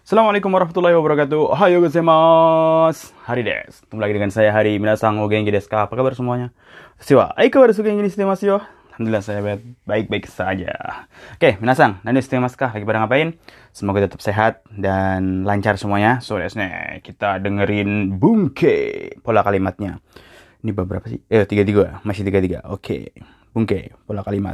Assalamualaikum warahmatullahi wabarakatuh. Ohayo gozaimasu. Hari desu. Ketemu lagi dengan saya Hari. Minasan o genki desu ka? Apa kabar semuanya? Siwa, aikawaru genki ni shite masu yo. Alhamdulillah saya baik-baik saja. Oke, minasan, nani shite masu ka? Lagi pada ngapain? Semoga tetap sehat dan lancar semuanya. So, desu ne. Kita dengerin Bunke pola kalimatnya. Ini berapa sih? 33. Masih 33. Oke. Bunke pola kalimat.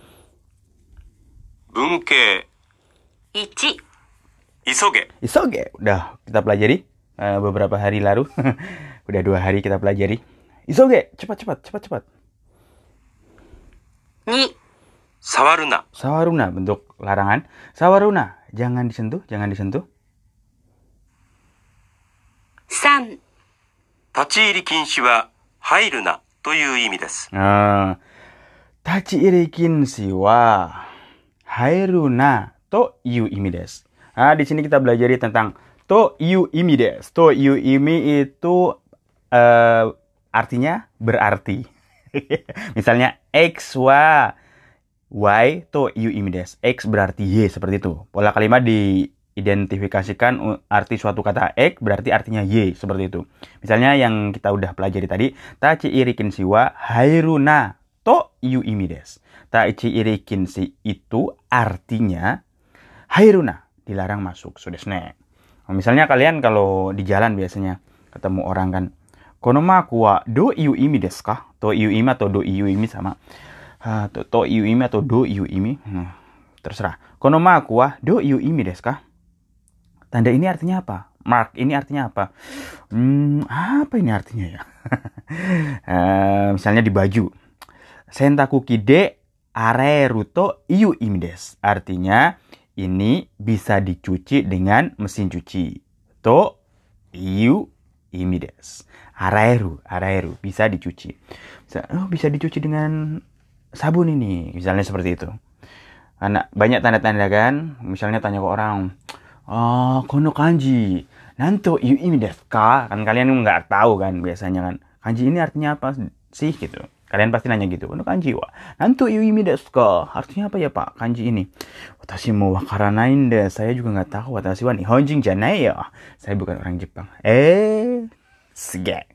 Bunke 1、 isoge. Isoge. Udah kita pelajari beberapa hari lalu. Udah 2 hari kita pelajari. Isoge. Cepat. 2、 sawaruna. Sawaruna bentuk larangan. Sawaruna. Jangan disentuh. 3、 立ち入り禁止は入るなという意味です。 Tachiiri kinshi wa hairuna to iu imi desu. Nah, di sini kita belajar tentang to iu imi desu. To iu imi itu artinya berarti. Misalnya x wa y to iu imi desu. X berarti y, seperti itu. Pola kalimat diidentifikasikan arti suatu kata x berarti artinya y, seperti itu. Misalnya yang kita udah pelajari tadi, tachiiri kinshi wa hairuna to iu imi desu. Tachiiri kinshi itu artinya hairuna, dilarang masuk. So desu ne. Misalnya kalian kalau di jalan biasanya ketemu orang kan, kono maku wa do iu imi desu ka? To iu imi atau do iu imi sama. To iu imi atau do iu imi. Terserah. Kono maku wa do iu imi desu ka? Tanda ini artinya apa? Mark ini artinya apa? Apa ini artinya ya? Misalnya di baju. Sentakuki de areru to iu imi desu. Artinya ini bisa dicuci dengan mesin cuci. To iu imi desu. Areru bisa dicuci. Bisa dicuci dengan sabun ini. Misalnya seperti itu. Karena banyak tanda-tanda kan. Misalnya tanya ke orang, kono kanji nanto iu imi desu ka? Kan kalian nggak tahu kan biasanya kan. Kanji ini artinya apa sih gitu. Kalian pasti nanya gitu. Kono kanji wa nanto iu imi desu ka? Artinya apa ya Pak kanji ini? Watashi mo wakaranai nde. Saya juga nggak tahu. Watashi wa nihonjin janai ya. Saya bukan orang Jepang. Suge.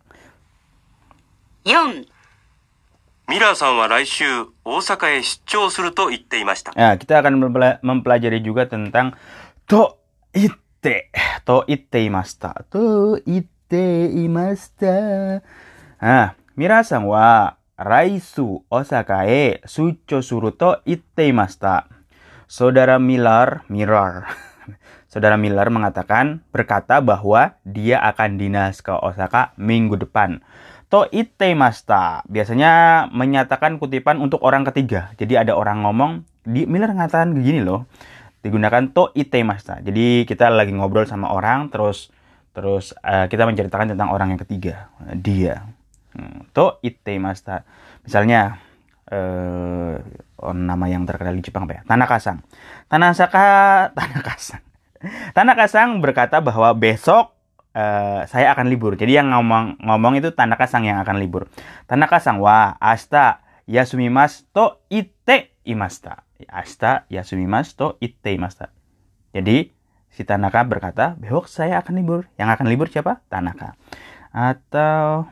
4、 ミラーさんは来週大阪へ出張すると言っていました。 Nah, kita akan mempelajari juga tentang to itte imashita. Nah, Mira-san wa raisu Osaka e sucho suru to itte imashita. Saudara Miller berkata bahwa dia akan dinas ke Osaka minggu depan. To itte imashita biasanya menyatakan kutipan untuk orang ketiga. Jadi ada orang ngomong, Miller ngatakan begini loh. Digunakan to itte imashita. Jadi kita lagi ngobrol sama orang terus kita menceritakan tentang orang yang ketiga, dia. To itte imashita. Misalnya nama yang terkenal di Jepang apa ya? Tanaka-san. Tanaka-san berkata bahwa besok saya akan libur. Jadi yang ngomong itu Tanaka-san yang akan libur. Tanaka-san wa ashita yasumimasu to itte imashita. Ashita yasumimasu to itte imashita. Jadi si Tanaka berkata, besok saya akan libur. Yang akan libur siapa? Tanaka. Atau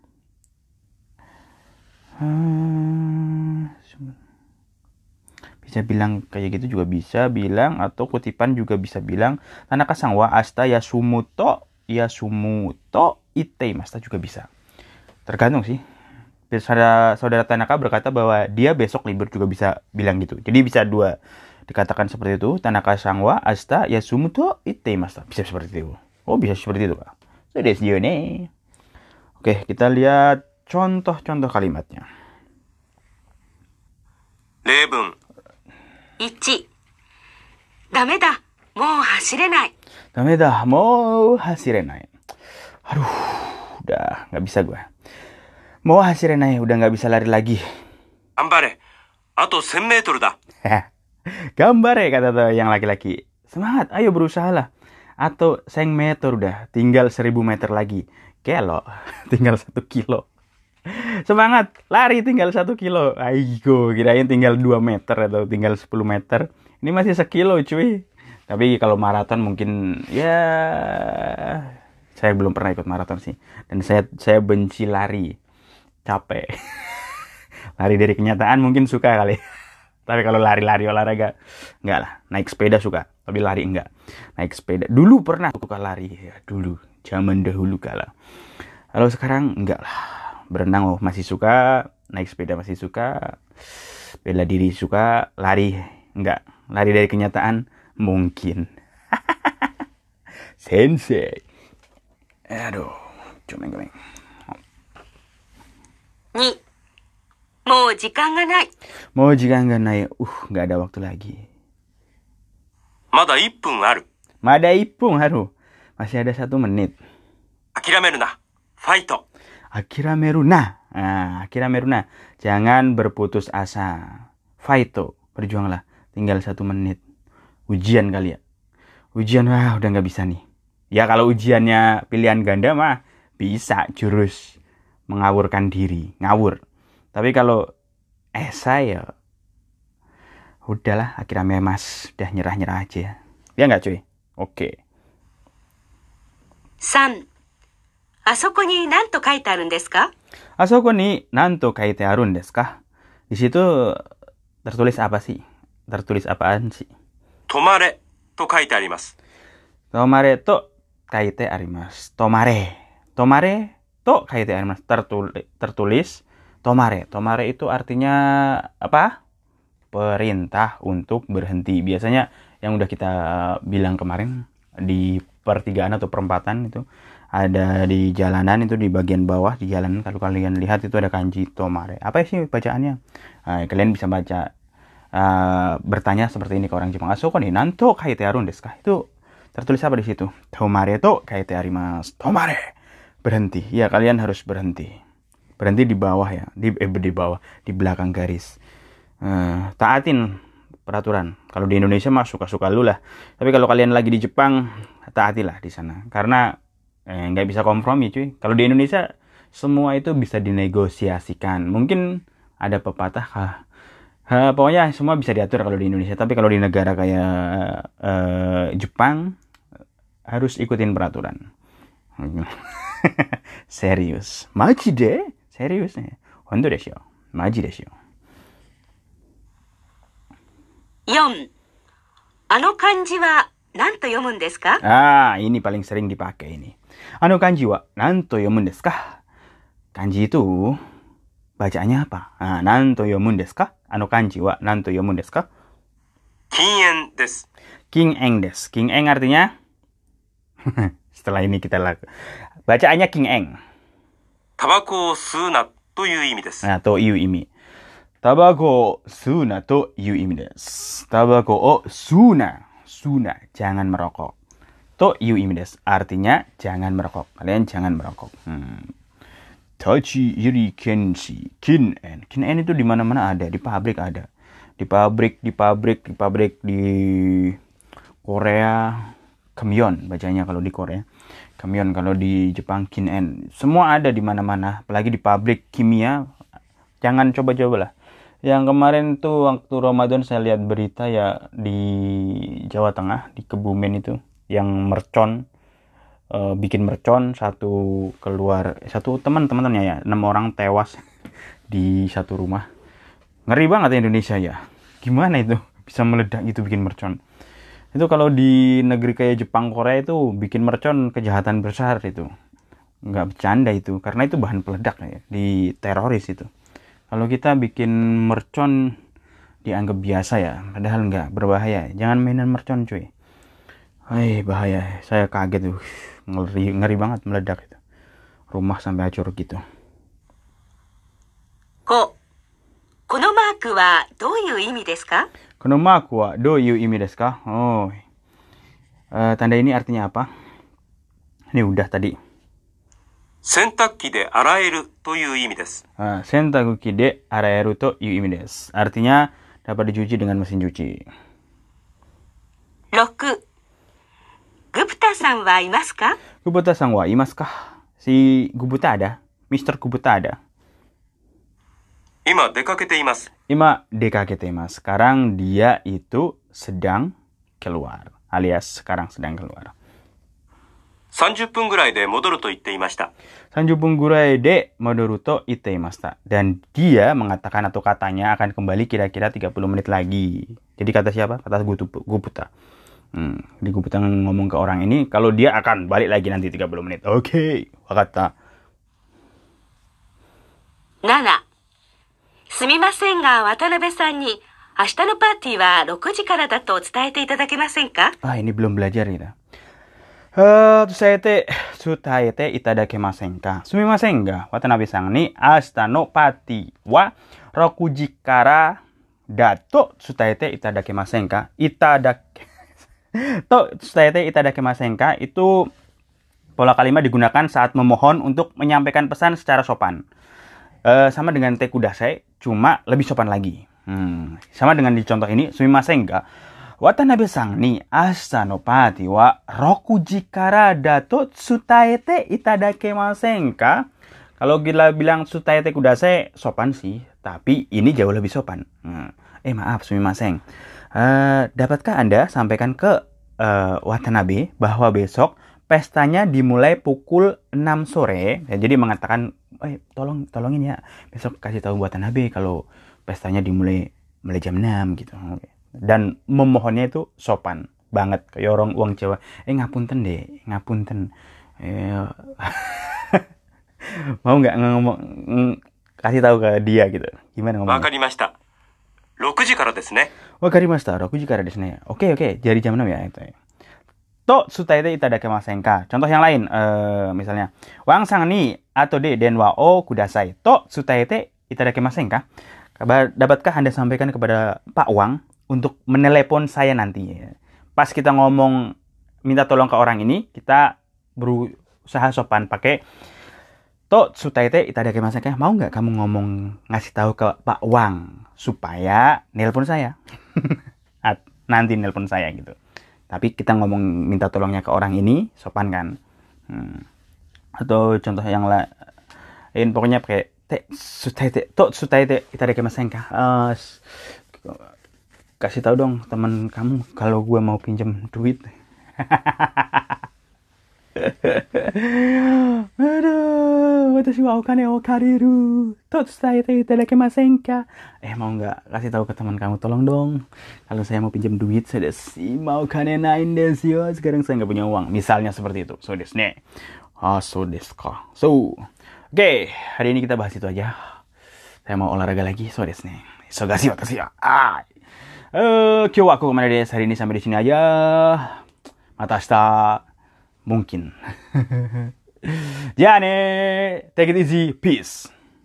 bisa bilang kayak gitu juga bisa bilang, atau kutipan juga bisa bilang Tanaka-san wa ashita yasumu to itte imashita juga bisa. Tergantung sih. Saudara Tanaka berkata bahwa dia besok libur juga bisa bilang gitu. Jadi bisa dua dikatakan seperti itu. Tanaka-san wa ashita yasumu to itte imashita. Bisa seperti itu. Oh, bisa seperti itu, Kak. So desu yo ne. Oke, kita lihat contoh-contoh kalimatnya. 例文。 1、ダメだ、もう走れない。 Dameda, mau hasirenai. Aduh, udah nggak bisa gue. Mau hasirenai, udah nggak bisa lari lagi. 頑張れ。あと1000メートルだ。 Gambare kata tuh yang laki-laki. Semangat, ayo berusaha lah. Atau 1000 meter udah, tinggal 1000 meter lagi. Kelo, tinggal 1 kilo. Semangat, lari tinggal 1 kilo. Aigo, kirain tinggal 2 meter atau tinggal 10 meter. Ini masih sekilo cuy. Tapi kalau maraton mungkin ya saya belum pernah ikut maraton sih. Dan saya benci lari. Capek. Lari dari kenyataan mungkin suka kali. Tapi kalau lari-lari olahraga enggak lah. Naik sepeda suka, tapi lari enggak. Naik sepeda dulu pernah suka lari ya, dulu zaman dahulu kala. Kalau sekarang enggak lah. Berenang masih suka, naik sepeda masih suka, bela diri suka, lari enggak. Lari dari kenyataan mungkin. Sensei. Aduh, comeng-comeng. 2、もう時間がない。 Mau jika nggak naik, nggak ada waktu lagi. まだ1分ある。 Mada ipung haru, masih ada 1 menit. 諦めるな。ファイト。 Akirameruna, akirameruna, jangan berputus asa. Faito, berjuanglah. Tinggal 1 menit. Ujian kali ya. Ujian, udah nggak bisa nih. Ya kalau ujiannya pilihan ganda mah bisa jurus mengawurkan diri, ngawur. Tapi kalau esai ya udahlah, akhirnya mas udah nyerah-nyerah aja. Ya nggak cuy? Oke. 3、あそこに何と書いてあるんですか？ Asoko ni nanto kaite arun desu ka? Di situ tertulis apa sih? Tertulis apaan sih? 止まれと書いてあります。 Tomare to kaite arimasu. Tomare. Tomare to kaite arimasu. Tertulis tomare. Tomare itu artinya apa? Perintah untuk berhenti. Biasanya yang udah kita bilang kemarin di pertigaan atau perempatan itu ada di jalanan, itu di bagian bawah di jalanan, kalau kalian lihat itu ada kanji tomare. Apa sih bacaannya? Kalian bisa baca, bertanya seperti ini ke orang Jepang. Asoko ni nanto kaite arun desu ka? Itu tertulis apa di situ? Tomare to kaite arimasu. Tomare. Berhenti. Ya, kalian harus berhenti. Berhenti di bawah ya, di bawah, di belakang garis. Taatin peraturan. Kalau di Indonesia mah suka-suka lu lah. Tapi kalau kalian lagi di Jepang, taatilah di sana. Karena nggak bisa kompromi cuy. Kalau di Indonesia semua itu bisa dinegosiasikan. Mungkin ada pepatah, pokoknya semua bisa diatur kalau di Indonesia. Tapi kalau di negara kayak Jepang harus ikutin peraturan. Serius. Maji de? Serius nih. Hondo desu yo. Maji desu yo. 4、あの漢字は何と読むんですか？ Ini paling sering dipakai ini. Ano kanji wa nanto yomun desu ka? Kanji itu bacaannya apa? Nanto yomun desu ka? Ano kanji wa nanto yomun desu ka? 禁煙です。 King eng desu. King eng artinya setelah ini kita bacaannya king eng. タバコを吸うなという意味です。 Toいう意味. Tabako suna toいう意味desu. Tabako o suna. Suna, jangan merokok. Toいう意味desu. Artinya jangan merokok. Kalian jangan merokok. Tachi iri kenshi. Kin en. Kin en itu di mana-mana ada. Di pabrik ada. Di pabrik di Korea. Kamyon bacanya kalau di Korea. Kamyon kalau di Jepang kin en. Semua ada di mana-mana. Apalagi di pabrik kimia. Jangan coba-coba lah. Yang kemarin tuh waktu Ramadan saya lihat berita ya di Jawa Tengah, di Kebumen itu, yang mercon, bikin mercon, satu teman-temannya ya, 6 orang tewas di satu rumah. Ngeri banget Indonesia ya. Gimana itu bisa meledak gitu bikin mercon? Itu kalau di negeri kayak Jepang, Korea itu bikin mercon kejahatan besar itu. Nggak bercanda itu, karena itu bahan peledak ya, di teroris itu. Kalau kita bikin mercon dianggap biasa ya, padahal nggak, berbahaya. Jangan mainan mercon cuy. Bahaya. Saya kaget tuh. Ngeri banget meledak itu. Rumah sampai hancur gitu. 5、このマークはどういう意味ですか？ Konomaku wa do yu imi desu ka? Tanda ini artinya apa? Ini udah tadi. 洗濯機で洗えるという意味です。 Sentakuki de araeru to yu imi desu. Artinya dapat dicuci dengan mesin cuci. 6、グプタさんはいますか？ Gubuta-san wa imasu ka? Si Gubuta ada? Mr. Gubuta ada? 今出かけています。 Ima dekakete mas. Sekarang dia itu sedang keluar. alias sekarang sedang keluar. 30分ぐらいで戻ると言っていました。 30 分ぐらいで戻ると言っていました. Dan dia mengatakan atau katanya akan kembali kira-kira 30 menit lagi. Jadi kata siapa? Kata Guputa. Jadi Guputa ngomong ke orang ini kalau dia akan balik lagi nanti 30 menit. Oke, wakata. 7、すみませんが渡辺さんに明日のパーティーは6時からだと伝えていただけませんか？ Ini belum belajar kita. Tsutaete itadakimasen ka. Sumimasen ga Watanabe-san ni ashita no party wa 6 時からだとtsutaete itadakimasen ka? Tsutaete itadakimasen ka itu pola kalimat digunakan saat memohon untuk menyampaikan pesan secara sopan. Sama dengan te kudasai, cuma lebih sopan lagi. Sama dengan di contoh ini, sumimasen ga Watanabe-san ni ashita no party wa 6 時からだと伝えていただけませんか? Kalau kita bilang tsutaete kudasai sopan sih, tapi ini jauh lebih sopan. Maaf, sumimasen. Dapatkah Anda sampaikan ke Watanabe bahwa besok pestanya dimulai pukul 6 sore? Ya, jadi mengatakan, tolongin ya, besok kasih tahu Watanabe kalau pestanya dimulai jam 6 gitu. Dan memohonnya itu sopan banget kayak orang uang Jawa. Ngapunten deh, ngapunten. Mau nggak ngomong kasih tahu ke dia gitu? Gimana ngomongnya? わかりました。6時からですね。 Wakarimashita, 6 時からですね. Oke, jadi jam 6 ya itu. To tsutaete itadakimasen ka. Contoh yang lain, misalnya, Wang-san ni ato de denwa o kudasai. To tsutaete itadakimasen ka. Dapatkah Anda sampaikan kepada Pak Wang untuk menelepon saya nanti? Pas kita ngomong minta tolong ke orang ini, kita berusaha sopan pakai to tsutaete itadakimasen ka. Mau nggak kamu ngomong ngasih tahu ke Pak Wang supaya nelpon saya? Nanti nelpon saya gitu. Tapi kita ngomong minta tolongnya ke orang ini sopan kan. Atau contoh yang lain pokoknya pakai to tsutaete itadakimasen ka. Kasih tahu dong teman kamu kalau gue mau pinjam duit. Aduh, watashi wa okane o kariru. To tsutaete itadakimasen ka? Mau nggak kasih tahu ke teman kamu, tolong dong. Kalau saya mau pinjam duit, saya mau okane nain desu yo. Sekarang saya nggak punya uang. Misalnya seperti itu. So desu ne. So desu ka. Oke, hari ini kita bahas itu aja. Saya mau olahraga lagi. So desu ne. Isogashi watashi wa. Kyou wa kokomade desu. Hari ini sampai di sini aja. Mata ashita. Mungkin. Ya ne, take it easy, peace.